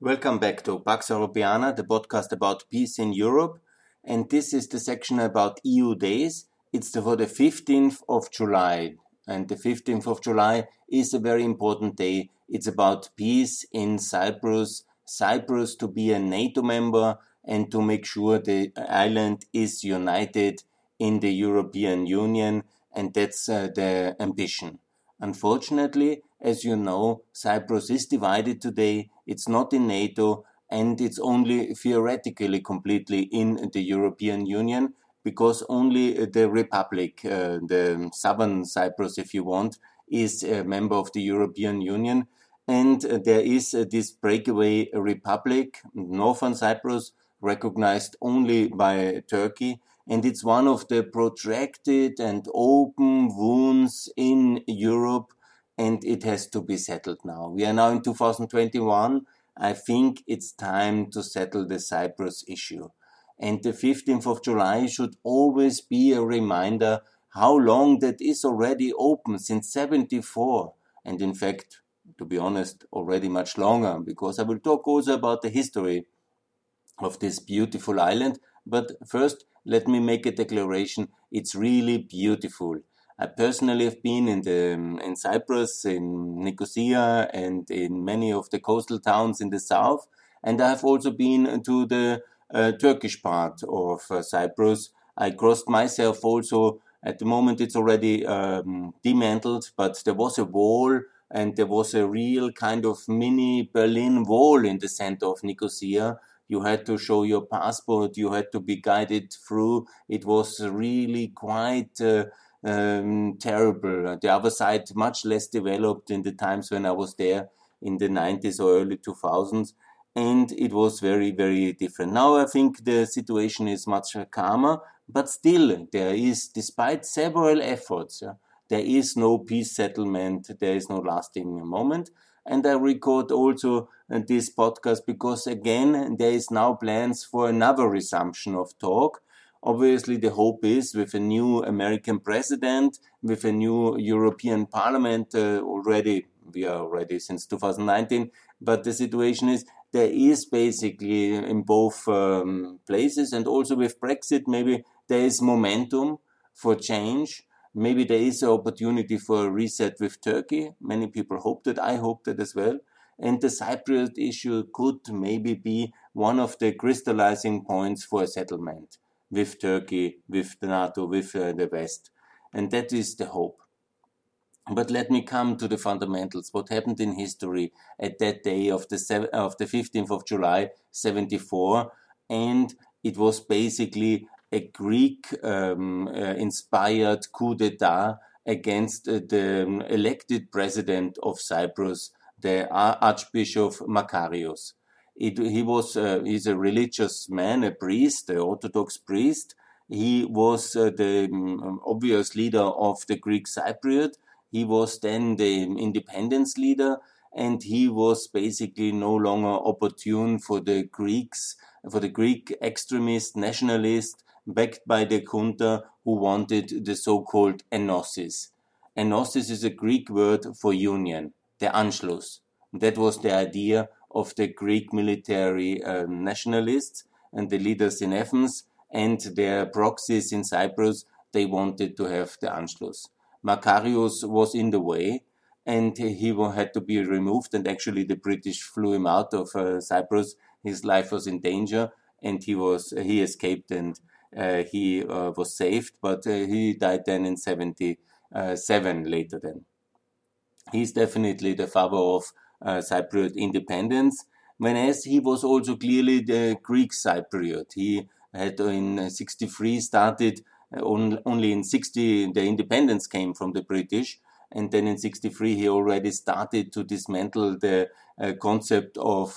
Welcome back to Pax Europiana, the podcast about peace in Europe. And this is the section about EU days. It's for the 15th of July. And the 15th of July is a very important day. It's about peace in Cyprus, Cyprus to be a NATO member and to make sure the island is united in the European Union. And that's the ambition. Unfortunately, as you know, Cyprus is divided today. It's not in NATO and it's only theoretically completely in the European Union because only the Republic, the southern Cyprus, if you want, is a member of the European Union. And there is this breakaway republic, Northern Cyprus, recognized only by Turkey. And it's one of the protracted and open wounds in Europe, and it has to be settled now. We are now in 2021. I think it's time to settle the Cyprus issue. And the 15th of July should always be a reminder how long that is already open, since 74. And in fact, to be honest, already much longer, because I will talk also about the history of this beautiful island. But first, let me make a declaration. It's really beautiful. I personally have been in Cyprus, in Nicosia, and in many of the coastal towns in the south. And I have also been to the Turkish part of Cyprus. I crossed myself also. At the moment, it's already demantled, but there was a wall, and there was a real kind of mini Berlin Wall in the center of Nicosia. You had to show your passport. You had to be guided through. It was really quite terrible. The other side, much less developed in the times when I was there in the 90s or early 2000s. And it was very, very different. Now I think the situation is much calmer, but still there is, despite several efforts, there is no peace settlement. There is no lasting moment. And I record also this podcast because, again, there is now plans for another resumption of talk. Obviously, the hope is with a new American president, with a new European Parliament we are already since 2019, but the situation is there is basically in both places, and also with Brexit, maybe there is momentum for change. Maybe there is an opportunity for a reset with Turkey. Many people hope that. I hope that as well. And the Cypriot issue could maybe be one of the crystallizing points for a settlement with Turkey, with the NATO, with the West. And that is the hope. But let me come to the fundamentals. What happened in history at that day of the 15th of July, 74? And it was basically a Greek-inspired coup d'etat against the elected president of Cyprus, the Archbishop Makarios. He's a religious man, a priest, an Orthodox priest. He was the obvious leader of the Greek Cypriot. He was then the independence leader, and he was basically no longer opportune for the Greeks, for the Greek extremist nationalists backed by the junta who wanted the so-called enosis. Enosis is a Greek word for union, the Anschluss. That was the idea of the Greek military nationalists and the leaders in Athens and their proxies in Cyprus. They wanted to have the Anschluss. Makarios was in the way, and he had to be removed, and actually the British flew him out of Cyprus. His life was in danger, and he escaped, and he was saved, but he died then in 77 later then. He's definitely the father of Cypriot independence, whereas he was also clearly the Greek Cypriot. He had in 63 started, only in 60 the independence came from the British, and then in 63 he already started to dismantle the concept of,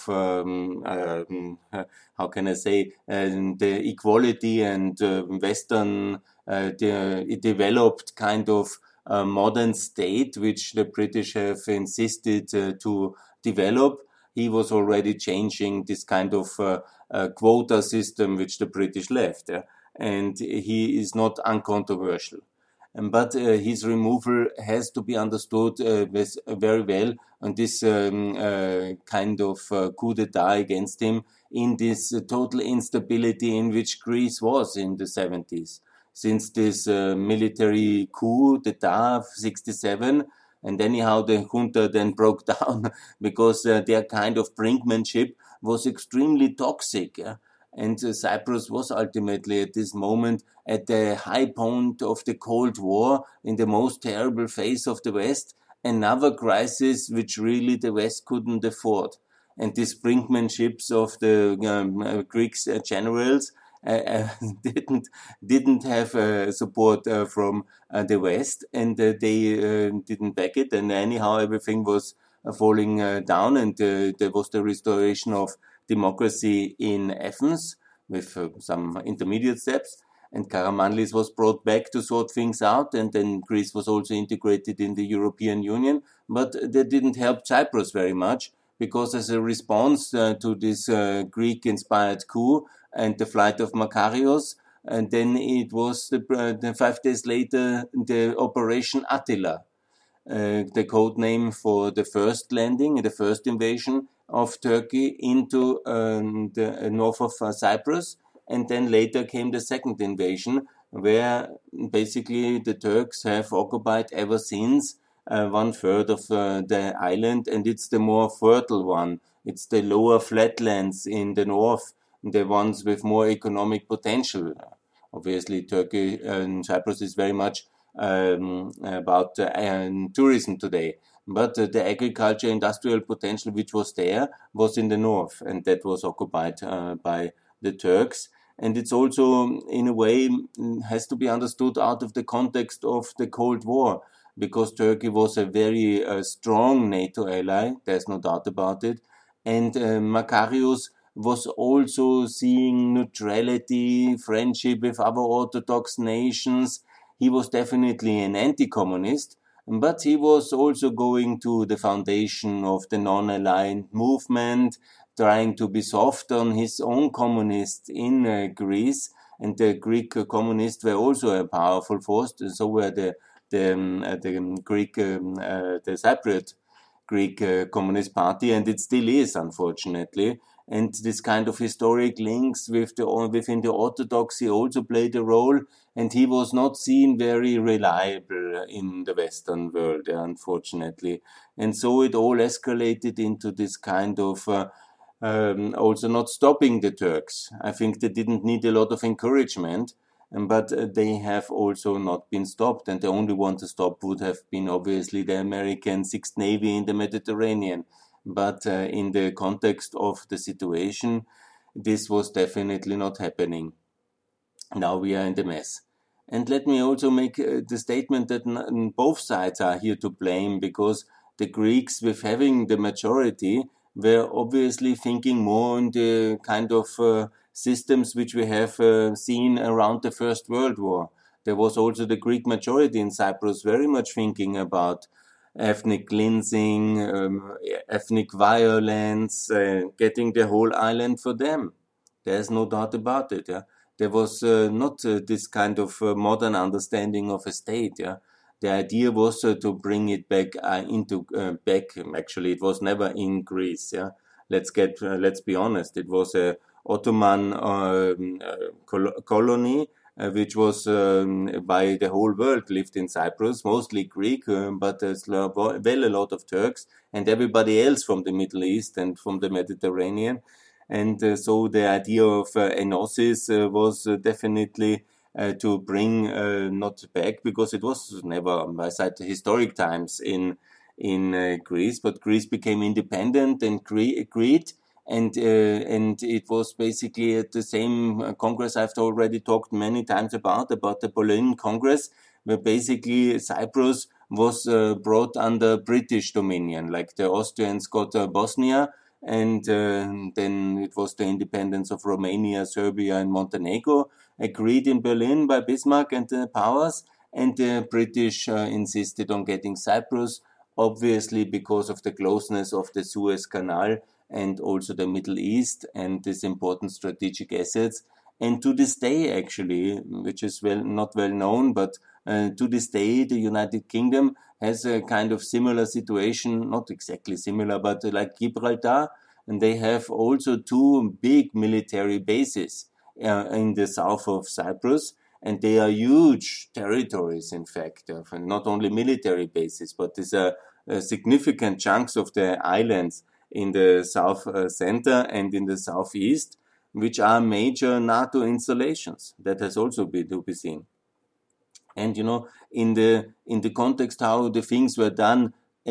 how can I say, the equality and Western developed kind of modern state which the British have insisted to develop. He was already changing this kind of quota system which the British left, and he is not uncontroversial. But his removal has to be understood very well, and this kind of coup d'etat against him in this total instability in which Greece was in the 70s. Since this military coup d'etat of 67, and anyhow the junta then broke down because their kind of brinkmanship was extremely toxic. Yeah? And Cyprus was ultimately at this moment at the high point of the Cold War, in the most terrible phase of the West, another crisis which really the West couldn't afford. And these brinkmanships of the Greek generals didn't have support from the West, and they didn't back it. And anyhow, everything was falling down, and there was the restoration of democracy in Athens with some intermediate steps. And Karamanlis was brought back to sort things out, and then Greece was also integrated in the European Union. But that didn't help Cyprus very much, because as a response to this Greek-inspired coup and the flight of Makarios, and then it was 5 days later the Operation Attila, the code name for the first landing, the first invasion of Turkey into the north of Cyprus. And then later came the second invasion, where basically the Turks have occupied ever since 1/3 of the island, and it's the more fertile one. It's the lower flatlands in the north, the ones with more economic potential. Obviously, Turkey and Cyprus is very much about tourism today. But the agriculture industrial potential which was there was in the north, and that was occupied by the Turks. And it's also, in a way, has to be understood out of the context of the Cold War, because Turkey was a very strong NATO ally, there's no doubt about it. And Makarios was also seeing neutrality, friendship with other Orthodox nations. He was definitely an anti-communist, but he was also going to the foundation of the non-aligned movement, trying to be soft on his own communists in Greece. And the Greek communists were also a powerful force, so were the Cypriot Greek Communist Party, and it still is, unfortunately. And this kind of historic links within the Orthodoxy also played a role, and he was not seen very reliable in the Western world, unfortunately. And so it all escalated into this kind of also not stopping the Turks. I think they didn't need a lot of encouragement, but they have also not been stopped. And the only one to stop would have been obviously the American Sixth Navy in the Mediterranean. But in the context of the situation, this was definitely not happening. Now we are in the mess. And let me also make the statement that both sides are here to blame, because the Greeks, with having the majority, were obviously thinking more on the kind of systems which we have seen around the First World War. There was also the Greek majority in Cyprus very much thinking about ethnic cleansing, ethnic violence, getting the whole island for them. There's no doubt about it. Yeah? There was not this kind of modern understanding of a state. Yeah? The idea was to bring it back back. Actually, it was never in Greece. Yeah, let's be honest. It was a Ottoman colony, which was by the whole world lived in Cyprus, mostly Greek, but there's a lot of Turks and everybody else from the Middle East and from the Mediterranean. And so the idea of enosis was definitely to bring not back, because it was never by side historic times in Greece, but Greece became independent and agreed. And it was basically at the same Congress I've already talked many times about the Berlin Congress, where basically Cyprus was brought under British dominion, like the Austrians got Bosnia, and then it was the independence of Romania, Serbia, and Montenegro, agreed in Berlin by Bismarck and the powers, and the British insisted on getting Cyprus, obviously because of the closeness of the Suez Canal and also the Middle East and these important strategic assets. And to this day, actually, which is not well known, but To this day, the United Kingdom has a kind of similar situation, not exactly similar, but like Gibraltar, and they have also two big military bases in the south of Cyprus, and they are huge territories, in fact, not only military bases, but these are significant chunks of the islands in the south center and in the southeast, which are major NATO installations. That has also to be seen. And in the context how the things were done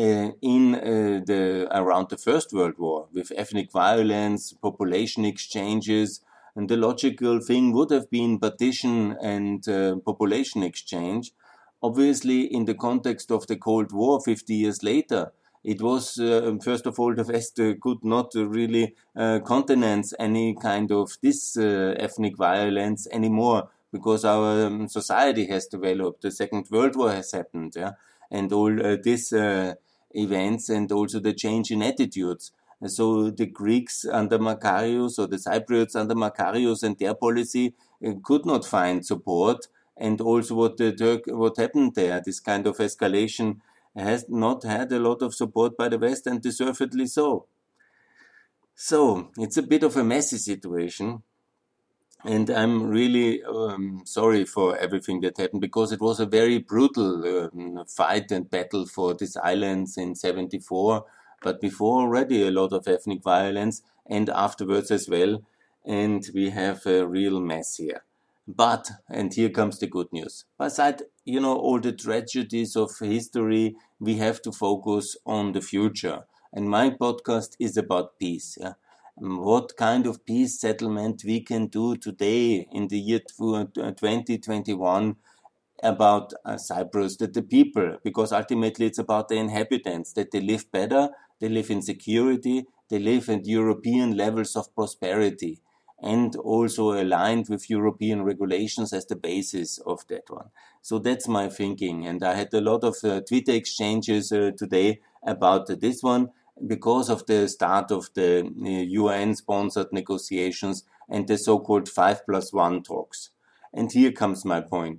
around the First World War, with ethnic violence, population exchanges, and the logical thing would have been partition and population exchange. Obviously, in the context of the Cold War 50 years later, it was, first of all, the West could not really countenance any kind of this ethnic violence anymore, because our society has developed, the Second World War has happened, yeah, and all these events, and also the change in attitudes. So the Greeks under Makarios, or the Cypriots under Makarios, and their policy could not find support. And also what happened there, this kind of escalation, has not had a lot of support by the West, and deservedly so. So it's a bit of a messy situation. And I'm really sorry for everything that happened, because it was a very brutal fight and battle for these islands in 74, but before already a lot of ethnic violence, and afterwards as well. And we have a real mess here. But, and here comes the good news, beside, all the tragedies of history, we have to focus on the future. And my podcast is about peace. Yeah? What kind of peace settlement we can do today in the year 2021 about Cyprus, that the people, because ultimately it's about the inhabitants, that they live better, they live in security, they live at European levels of prosperity, and also aligned with European regulations as the basis of that one. So that's my thinking. And I had a lot of Twitter exchanges today about this one, because of the start of the UN-sponsored negotiations and the so-called 5+1 talks. And here comes my point.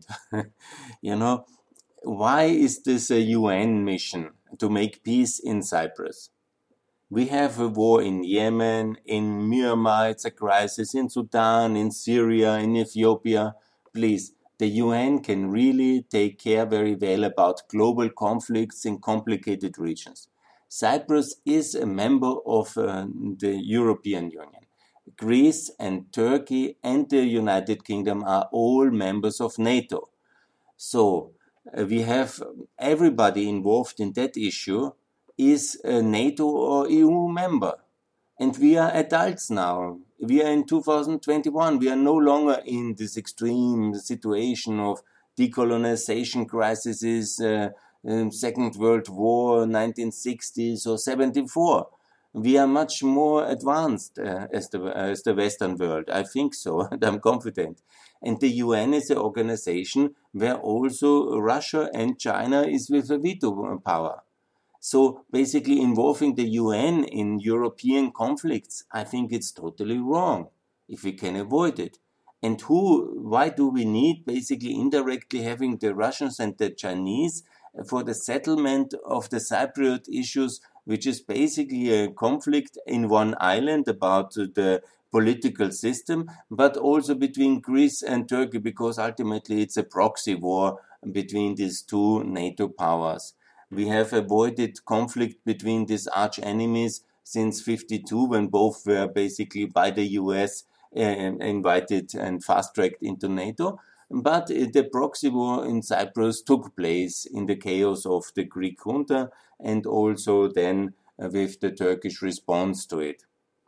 Why is this a UN mission to make peace in Cyprus? We have a war in Yemen, in Myanmar, it's a crisis, in Sudan, in Syria, in Ethiopia. Please, the UN can really take care very well about global conflicts in complicated regions. Cyprus is a member of the European Union. Greece and Turkey and the United Kingdom are all members of NATO. So we have everybody involved in that issue is a NATO or EU member. And we are adults now. We are in 2021. We are no longer in this extreme situation of decolonization crises, Second World War, 1960s or 74. We are much more advanced as the Western world. I think so, and I'm confident. And the UN is an organization where also Russia and China is with a veto power. So basically involving the UN in European conflicts, I think it's totally wrong if we can avoid it. And why do we need basically indirectly having the Russians and the Chinese for the settlement of the Cypriot issues, which is basically a conflict in one island about the political system, but also between Greece and Turkey, because ultimately it's a proxy war between these two NATO powers. We have avoided conflict between these arch enemies since 52, when both were basically by the US invited and fast-tracked into NATO. But the proxy war in Cyprus took place in the chaos of the Greek junta, and also then with the Turkish response to it.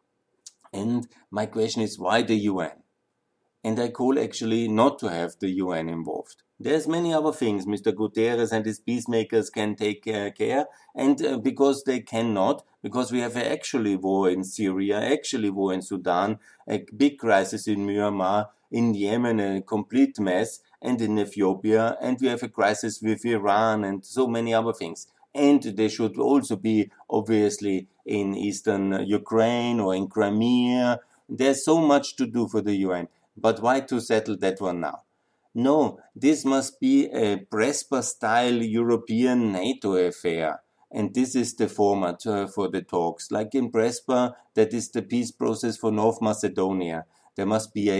And my question is, why the UN? And I call actually not to have the UN involved. There's many other things Mr. Guterres and his peacemakers can take care, and because they cannot, because we have actually war in Syria, actually war in Sudan, a big crisis in Myanmar, in Yemen, a complete mess, and in Ethiopia, and we have a crisis with Iran and so many other things. And they should also be obviously in eastern Ukraine or in Crimea. There's so much to do for the UN. But why to settle that one now? No, this must be a Prespa-style European NATO affair. And this is the format for the talks. Like in Prespa, that is the peace process for North Macedonia. There must be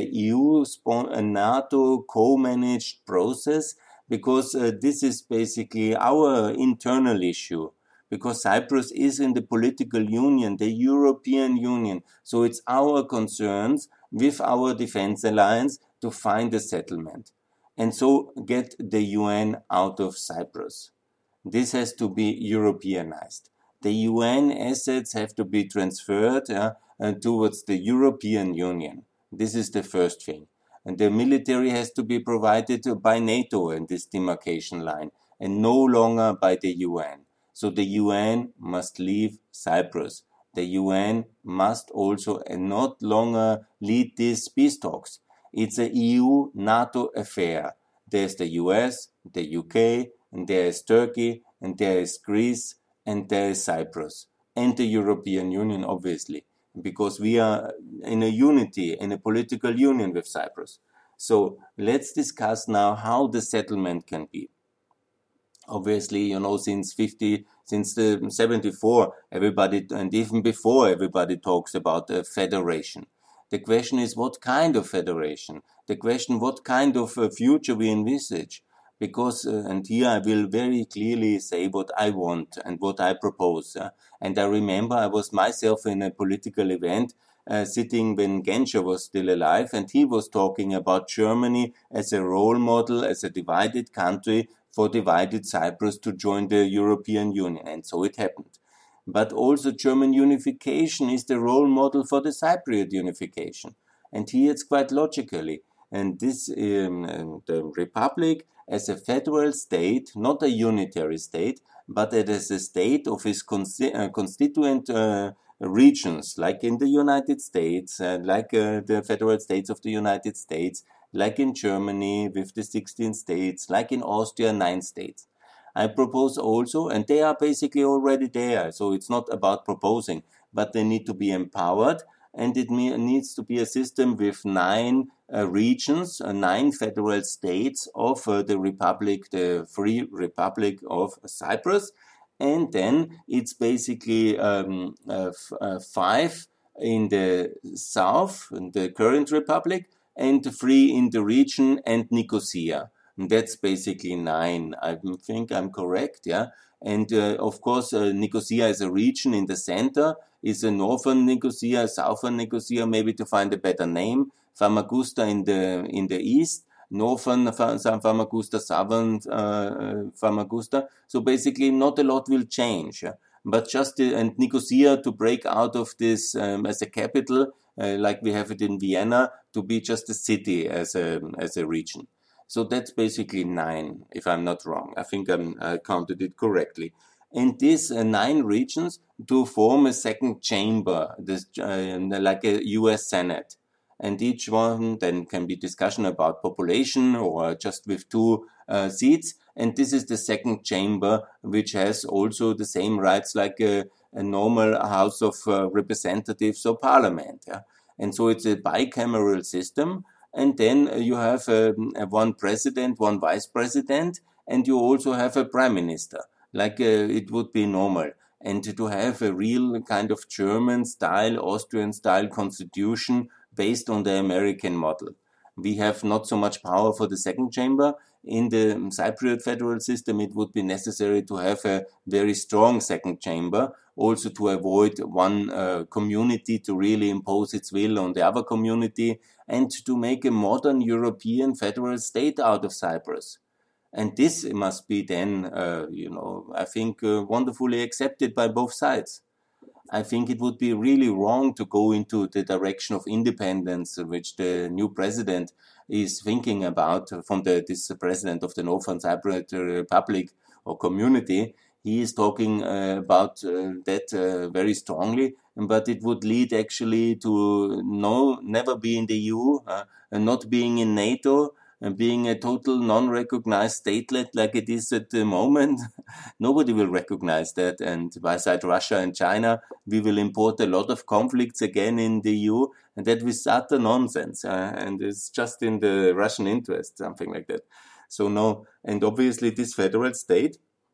a NATO co-managed process, because this is basically our internal issue. Because Cyprus is in the political union, the European Union. So it's our concerns with our defense alliance to find a settlement and so get the UN out of Cyprus. This has to be Europeanized. The UN assets have to be transferred towards the European Union. This is the first thing. And the military has to be provided by NATO in this demarcation line and no longer by the UN. So the UN must leave Cyprus. The UN must also not longer lead these peace talks. It's a EU-NATO affair. There's the US, the UK, and there is Turkey, and there is Greece, and there is Cyprus, and the European Union, obviously, because we are in a unity, in a political union with Cyprus. So let's discuss now how the settlement can be. Obviously, since the 74, everybody, and even before, everybody talks about a federation. The question is, what kind of federation? The question, what kind of future we envisage? Because, and here I will very clearly say what I want and what I propose. And I remember I was myself in a political event sitting when Genscher was still alive, and he was talking about Germany as a role model, as a divided country for divided Cyprus to join the European Union. And so it happened. But also German unification is the role model for the Cypriot unification. And here it's quite logically. And this, the Republic as a federal state, not a unitary state, but as a state of its constituent regions, like in the United States, like the federal states of the United States, like in Germany with the 16 states, like in Austria, 9 states. I propose also, and they are basically already there, so it's not about proposing, but they need to be empowered, and it needs to be a system with 9 regions, 9 federal states of the Republic, the Free Republic of Cyprus, and then it's basically 5 in the south, in the current Republic, and 3 in the region and Nicosia. And that's basically 9. I think I'm correct, yeah. And of course, Nicosia is a region in the center, is a northern Nicosia, southern Nicosia, maybe to find a better name. Famagusta in the east, northern Famagusta, southern Famagusta. So basically, not a lot will change. But just and Nicosia to break out of this as a capital, like we have it in Vienna, to be just a city as a region. So that's basically 9, if I'm not wrong. I think I counted it correctly. And these 9 regions to form a second chamber, like a US Senate. And each one then can be discussion about population or just with 2 seats. And this is the second chamber, which has also the same rights like a normal House of Representatives or Parliament. Yeah? And so it's a bicameral system. And then you have one president, one vice president, and you also have a prime minister, like it would be normal. And to have a real kind of German style, Austrian style constitution based on the American model. We have not so much power for the second chamber. In the Cypriot federal system, it would be necessary to have a very strong second chamber, also to avoid one community to really impose its will on the other community, and to make a modern European federal state out of Cyprus. And this must be then, I think, wonderfully accepted by both sides. I think it would be really wrong to go into the direction of independence, which the new president is thinking about from this president of the Northern Cypriot Republic or community. He is talking about that very strongly, but it would lead actually to never be in the EU, and not being in NATO, and being a total non-recognized statelet like it is at the moment, nobody will recognize that. And beside Russia and China, we will import a lot of conflicts again in the EU, and that is utter nonsense. And it's just in the Russian interest, something like that. So no, and obviously this federal state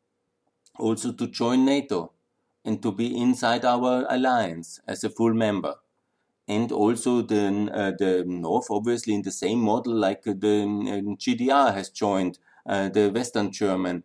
also to join NATO and to be inside our alliance as a full member. And also the North, obviously in the same model like the GDR has joined the Western German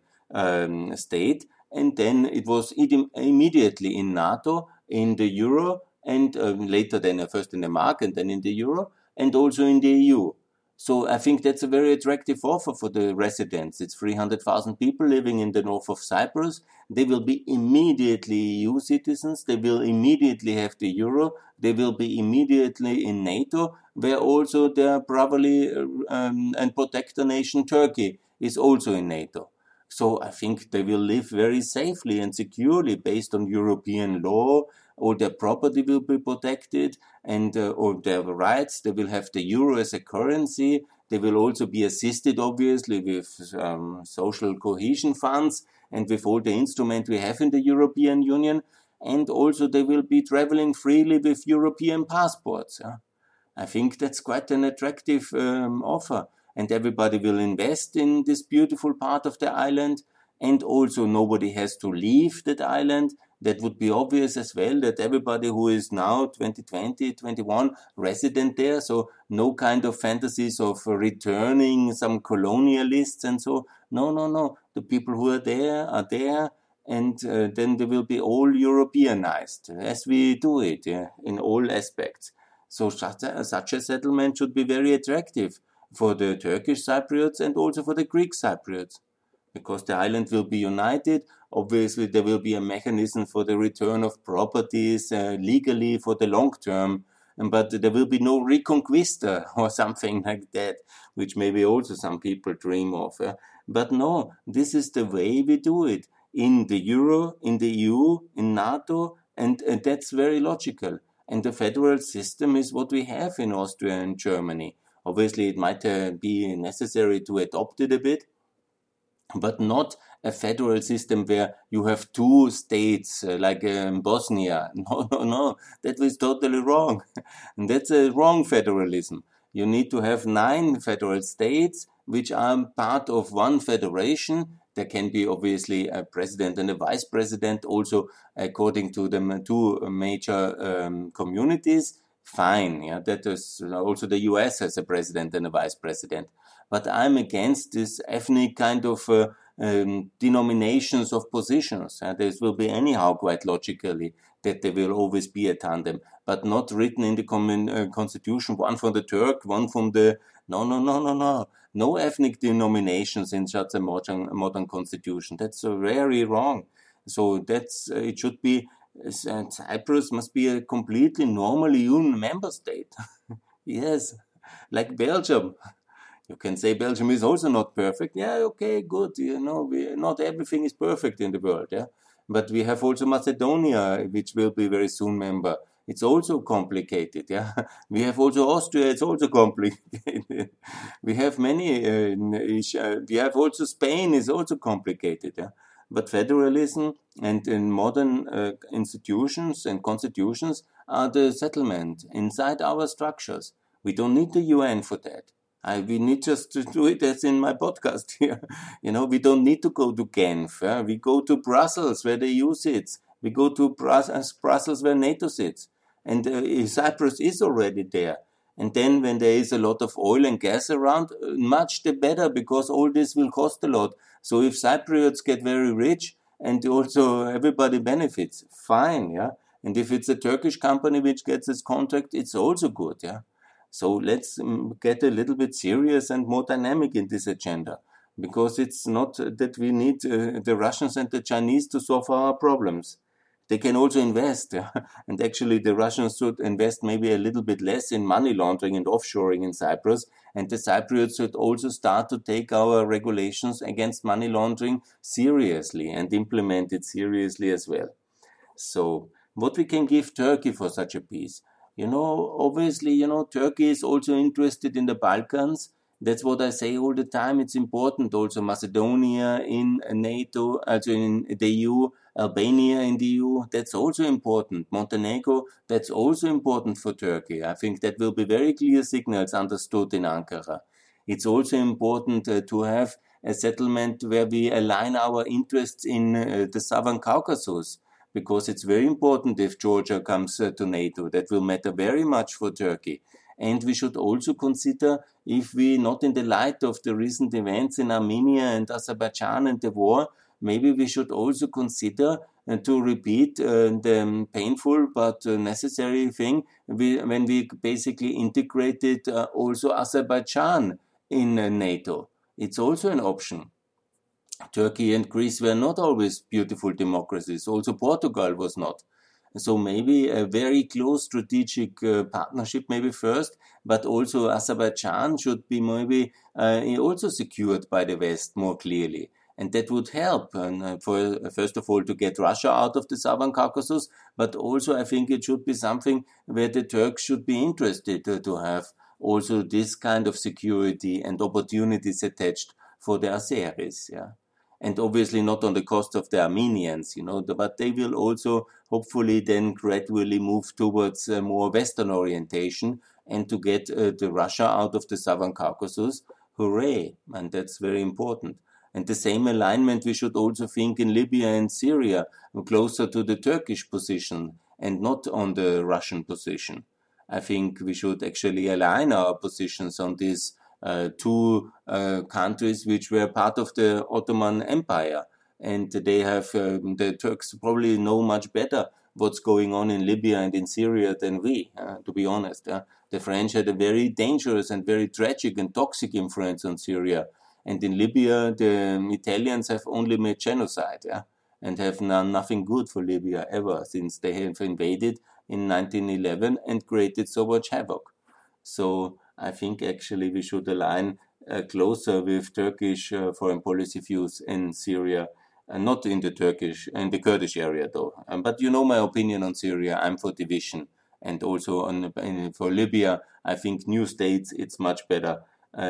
state. And then it was immediately in NATO, in the Euro, and later then first in the Mark and then in the Euro, and also in the EU. So I think that's a very attractive offer for the residents. It's 300,000 people living in the north of Cyprus. They will be immediately EU citizens. They will immediately have the euro. They will be immediately in NATO, where also their brotherly and protector nation Turkey is also in NATO. So I think they will live very safely and securely based on European law. All their property will be protected and all their rights. They will have the euro as a currency. They will also be assisted, obviously, with social cohesion funds and with all the instruments we have in the European Union. And also they will be traveling freely with European passports. I think that's quite an attractive offer. And everybody will invest in this beautiful part of the island. And also nobody has to leave that island. That would be obvious as well, that everybody who is now 2020, 21 resident there, so no kind of fantasies of returning some colonialists and so. No. The people who are there, and then they will be all Europeanized, as we do it in all aspects. So such a settlement should be very attractive for the Turkish Cypriots and also for the Greek Cypriots, because the island will be united. Obviously, there will be a mechanism for the return of properties legally for the long term, but there will be no reconquista or something like that, which maybe also some people dream of. But no, this is the way we do it in the euro, in the EU, in NATO, and that's very logical. And the federal system is what we have in Austria and Germany. Obviously, it might be necessary to adopt it a bit, but not a federal system where you have two states like Bosnia. No, that was totally wrong. And that's a wrong federalism. You need to have 9 federal states which are part of one federation. There can be obviously a president and a vice president, also according to the 2 major communities. Fine, yeah, that is also the US has a president and a vice president. But I'm against this ethnic kind of denominations of positions. This will be anyhow quite logically that there will always be a tandem, but not written in the constitution, one from the Turk, one from the... No. No ethnic denominations in such a modern constitution. That's very wrong. So that's it should be... Cyprus must be a completely normal EU member state. Yes, like Belgium. You can say Belgium is also not perfect. Yeah, okay, good. Not everything is perfect in the world. Yeah, but we have also Macedonia, which will be very soon member. It's also complicated. Yeah, we have also Austria. It's also complicated. We have many. We have also Spain. Is also complicated. Yeah. But federalism and in modern institutions and constitutions are the settlement inside our structures. We don't need the UN for that. We need just to do it as in my podcast here. We don't need to go to Genf. We go to Brussels where the EU sits. We go to Brussels where NATO sits. And Cyprus is already there. And then when there is a lot of oil and gas around, much the better, because all this will cost a lot. So if Cypriots get very rich and also everybody benefits, fine, yeah. And if it's a Turkish company which gets this contract, it's also good, yeah. So let's get a little bit serious and more dynamic in this agenda, because it's not that we need the Russians and the Chinese to solve our problems. They can also invest, yeah? And actually the Russians should invest maybe a little bit less in money laundering and offshoring in Cyprus, and the Cypriots should also start to take our regulations against money laundering seriously and implement it seriously as well. So what we can give Turkey for such a peace? Obviously, Turkey is also interested in the Balkans, That's what I say all the time. It's important also Macedonia in NATO, also in the EU, Albania in the EU. That's also important. Montenegro, that's also important for Turkey. I think that will be very clear signals understood in Ankara. It's also important to have a settlement where we align our interests in the Southern Caucasus, because it's very important if Georgia comes to NATO. That will matter very much for Turkey. And we should also consider, if we, not in the light of the recent events in Armenia and Azerbaijan and the war, maybe we should also consider to repeat the painful but necessary thing when we basically integrated also Azerbaijan in NATO. It's also an option. Turkey and Greece were not always beautiful democracies. Also Portugal was not. So maybe a very close strategic partnership maybe first, but also Azerbaijan should be maybe also secured by the West more clearly. And that would help, for first of all, to get Russia out of the Southern Caucasus, but also I think it should be something where the Turks should be interested to have also this kind of security and opportunities attached for the Azeris, yeah. And obviously not on the cost of the Armenians, but they will also hopefully then gradually move towards a more Western orientation and to get the Russia out of the Southern Caucasus. Hooray! And that's very important. And the same alignment we should also think in Libya and Syria, closer to the Turkish position and not on the Russian position. I think we should actually align our positions on these two countries which were part of the Ottoman Empire. And they have, the Turks probably know much better what's going on in Libya and in Syria than we, to be honest. The French had a very dangerous and very tragic and toxic influence on Syria. And in Libya, the Italians have only made genocide, and have done nothing good for Libya ever since they have invaded in 1911 and created so much havoc. So I think actually we should align closer with Turkish foreign policy views in Syria, not in the Kurdish area though. But you know my opinion on Syria. I'm for division, and also for Libya. I think new states. It's much better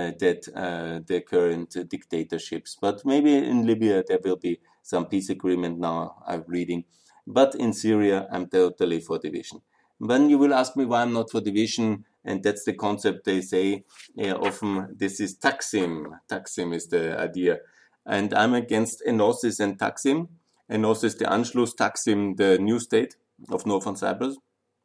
that the current dictatorships. But maybe in Libya there will be some peace agreement now. I'm reading, but in Syria I'm totally for division. Then you will ask me why I'm not for division. And that's the concept they say often. This is Taksim. Taksim is the idea. And I'm against Enosis and Taksim. Enosis, the Anschluss, Taksim, the new state of Northern Cyprus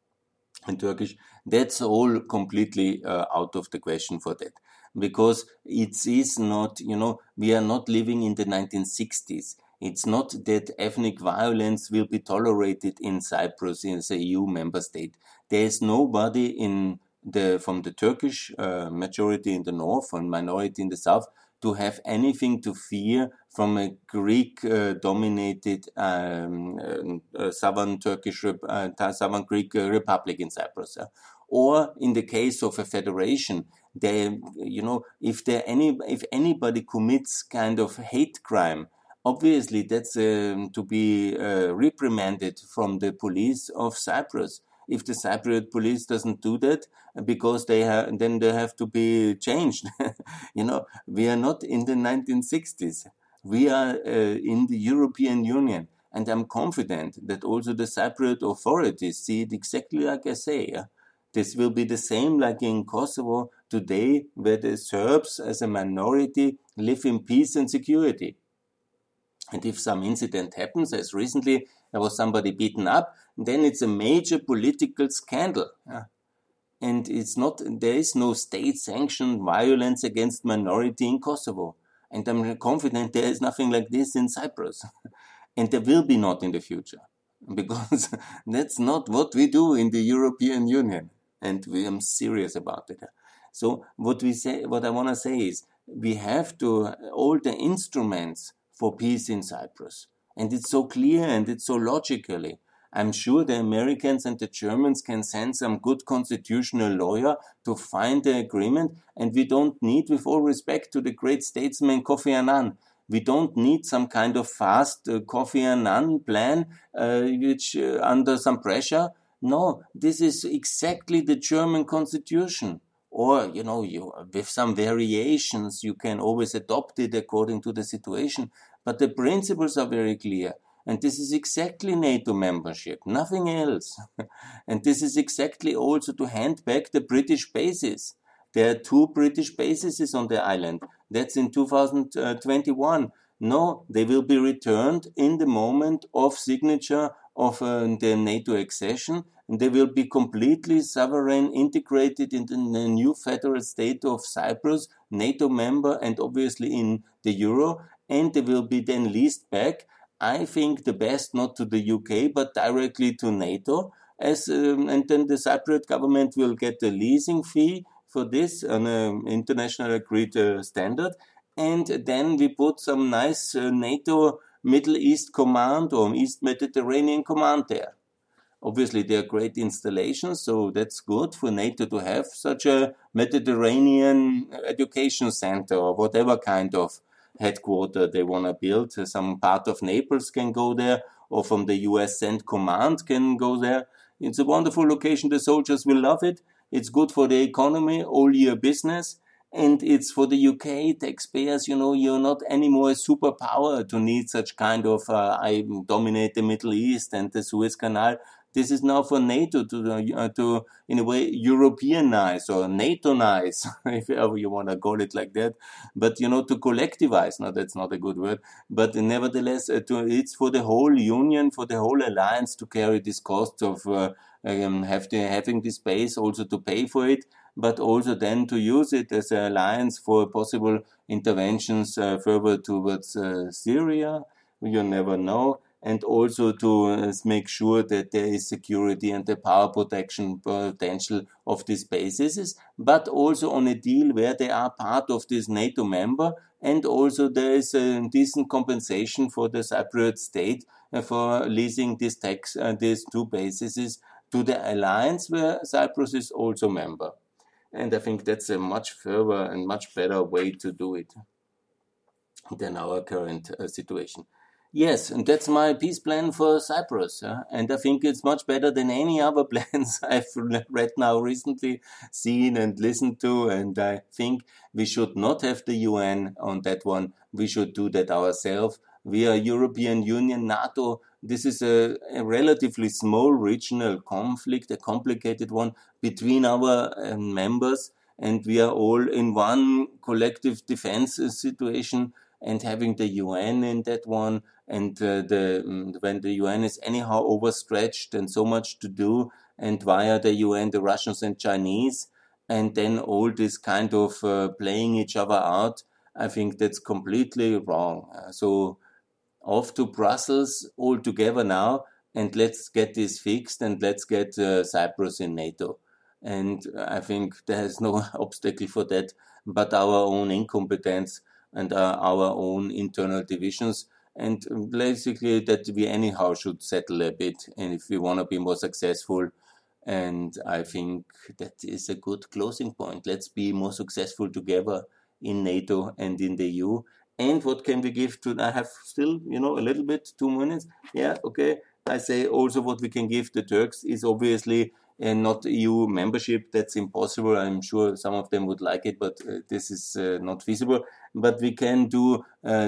in Turkish. That's all completely out of the question for that. Because it is not, we are not living in the 1960s. It's not that ethnic violence will be tolerated in Cyprus as a EU member state. There is nobody from the Turkish majority in the north and minority in the south to have anything to fear from a Greek-dominated Southern Greek Republic in Cyprus. Or in the case of a federation, if anybody commits kind of hate crime, obviously that's to be reprimanded from the police of Cyprus. If the Cypriot police doesn't do that, because then they have to be changed. We are not in the 1960s. We are in the European Union, and I'm confident that also the Cypriot authorities see it exactly like I say. This will be the same like in Kosovo today, where the Serbs as a minority live in peace and security. And if some incident happens, as recently there was somebody beaten up, then it's a major political scandal. And there is no state-sanctioned violence against minority in Kosovo. And I'm confident there is nothing like this in Cyprus. And there will be not in the future. Because that's not what we do in the European Union. And I'm serious about it. So what I want to say is, we have all the instruments for peace in Cyprus. And it's so clear and it's so logically. I'm sure the Americans and the Germans can send some good constitutional lawyer to find the agreement, and we don't need, with all respect to the great statesman Kofi Annan, we don't need some kind of fast Kofi Annan plan which under some pressure. No, this is exactly the German constitution. or, with some variations, you can always adopt it according to the situation. But the principles are very clear. And this is exactly NATO membership, nothing else. And this is exactly also to hand back the British bases. There are 2 British bases on the island. That's in 2021. No, they will be returned in the moment of signature of the NATO accession, and they will be completely sovereign, integrated in the new federal state of Cyprus, NATO member, and obviously in the euro, and they will be then leased back. I think the best not to the UK, but directly to NATO, and then the Cypriot government will get a leasing fee for this on an international agreed standard, and then we put some nice NATO Middle East Command or East Mediterranean Command there. Obviously, they are great installations, so that's good for NATO to have such a Mediterranean education center or whatever kind of headquarter they want to build. Some part of Naples can go there, or from the US Cent Command can go there. It's a wonderful location. The soldiers will love it. It's good for the economy, all year business. And it's for the UK taxpayers, you're not anymore a superpower to need such kind of, I dominate the Middle East and the Suez Canal. This is now for NATO to in a way, Europeanize or NATO-nize, if ever you want to call it like that. But, to collectivize. No, that's not a good word. But nevertheless, it's for the whole union, for the whole alliance to carry this cost of having this base, also to pay for it, but also then to use it as an alliance for possible interventions further towards Syria. You never know. And also to make sure that there is security and the power protection potential of these bases, but also on a deal where they are part of this NATO member, and also there is a decent compensation for the Cypriot state for leasing these 2 bases to the alliance where Cyprus is also member. And I think that's a much further and much better way to do it than our current situation. Yes, and that's my peace plan for Cyprus. And I think it's much better than any other plans I've read now recently, seen and listened to. And I think we should not have the UN on that one. We should do that ourselves. We are European Union, NATO. This is a relatively small regional conflict, a complicated one between our members. And we are all in one collective defense situation, and having the UN in that one, and when the UN is anyhow overstretched and so much to do, and via the UN, the Russians and Chinese, and then all this kind of playing each other out, I think that's completely wrong. So off to Brussels all together now, and let's get this fixed, and let's get Cyprus in NATO. And I think there's no obstacle for that but our own incompetence and our own internal divisions, and basically that we anyhow should settle a bit, and if we want to be more successful. And I think that is a good closing point. Let's be more successful together in NATO and in the EU. And what can we give to, I have still, a little bit, 2 minutes. Yeah, okay. I say also what we can give the Turks is obviously not EU membership. That's impossible. I'm sure some of them would like it, but this is not feasible. But we can do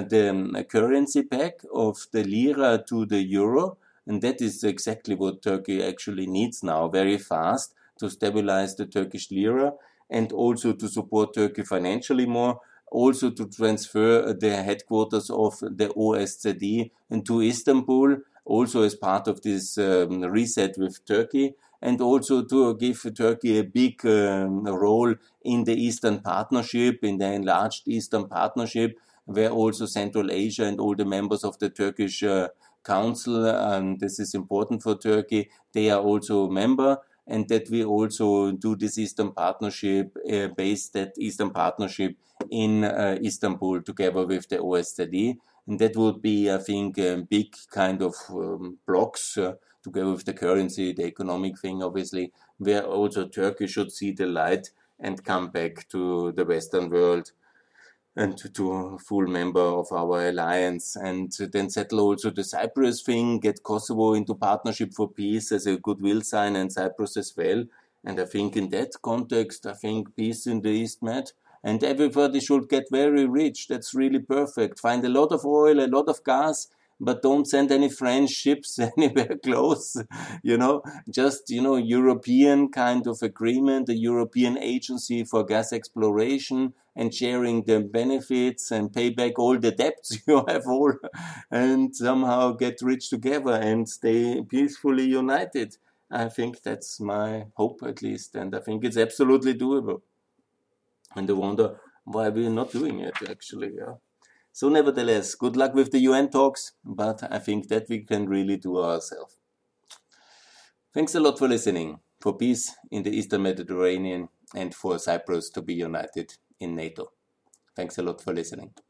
the currency pack of the lira to the euro. And that is exactly what Turkey actually needs now, very fast, to stabilize the Turkish lira, and also to support Turkey financially more, also to transfer the headquarters of the OSCE into Istanbul, also as part of this reset with Turkey, and also to give Turkey a big role in the Eastern Partnership, in the enlarged Eastern Partnership, where also Central Asia and all the members of the Turkish Council, and this is important for Turkey, they are also a member, and that we also do this Eastern Partnership, base that Eastern Partnership in Istanbul together with the OSCE. And that would be, I think, a big kind of blocks together with the currency, the economic thing, obviously, where also Turkey should see the light and come back to the Western world and to a full member of our alliance, and then settle also the Cyprus thing, get Kosovo into Partnership for Peace as a goodwill sign, and Cyprus as well. And I think in that context, I think peace in the East Med. And everybody should get very rich. That's really perfect. Find a lot of oil, a lot of gas, but don't send any French ships anywhere close. Just, European kind of agreement, a European agency for gas exploration and sharing the benefits and pay back all the debts you have all and somehow get rich together and stay peacefully united. I think that's my hope at least, and I think it's absolutely doable. And I wonder why we're not doing it actually. Yeah. So nevertheless, good luck with the UN talks, but I think that we can really do ourselves. Thanks a lot for listening, for peace in the Eastern Mediterranean and for Cyprus to be united in NATO. Thanks a lot for listening.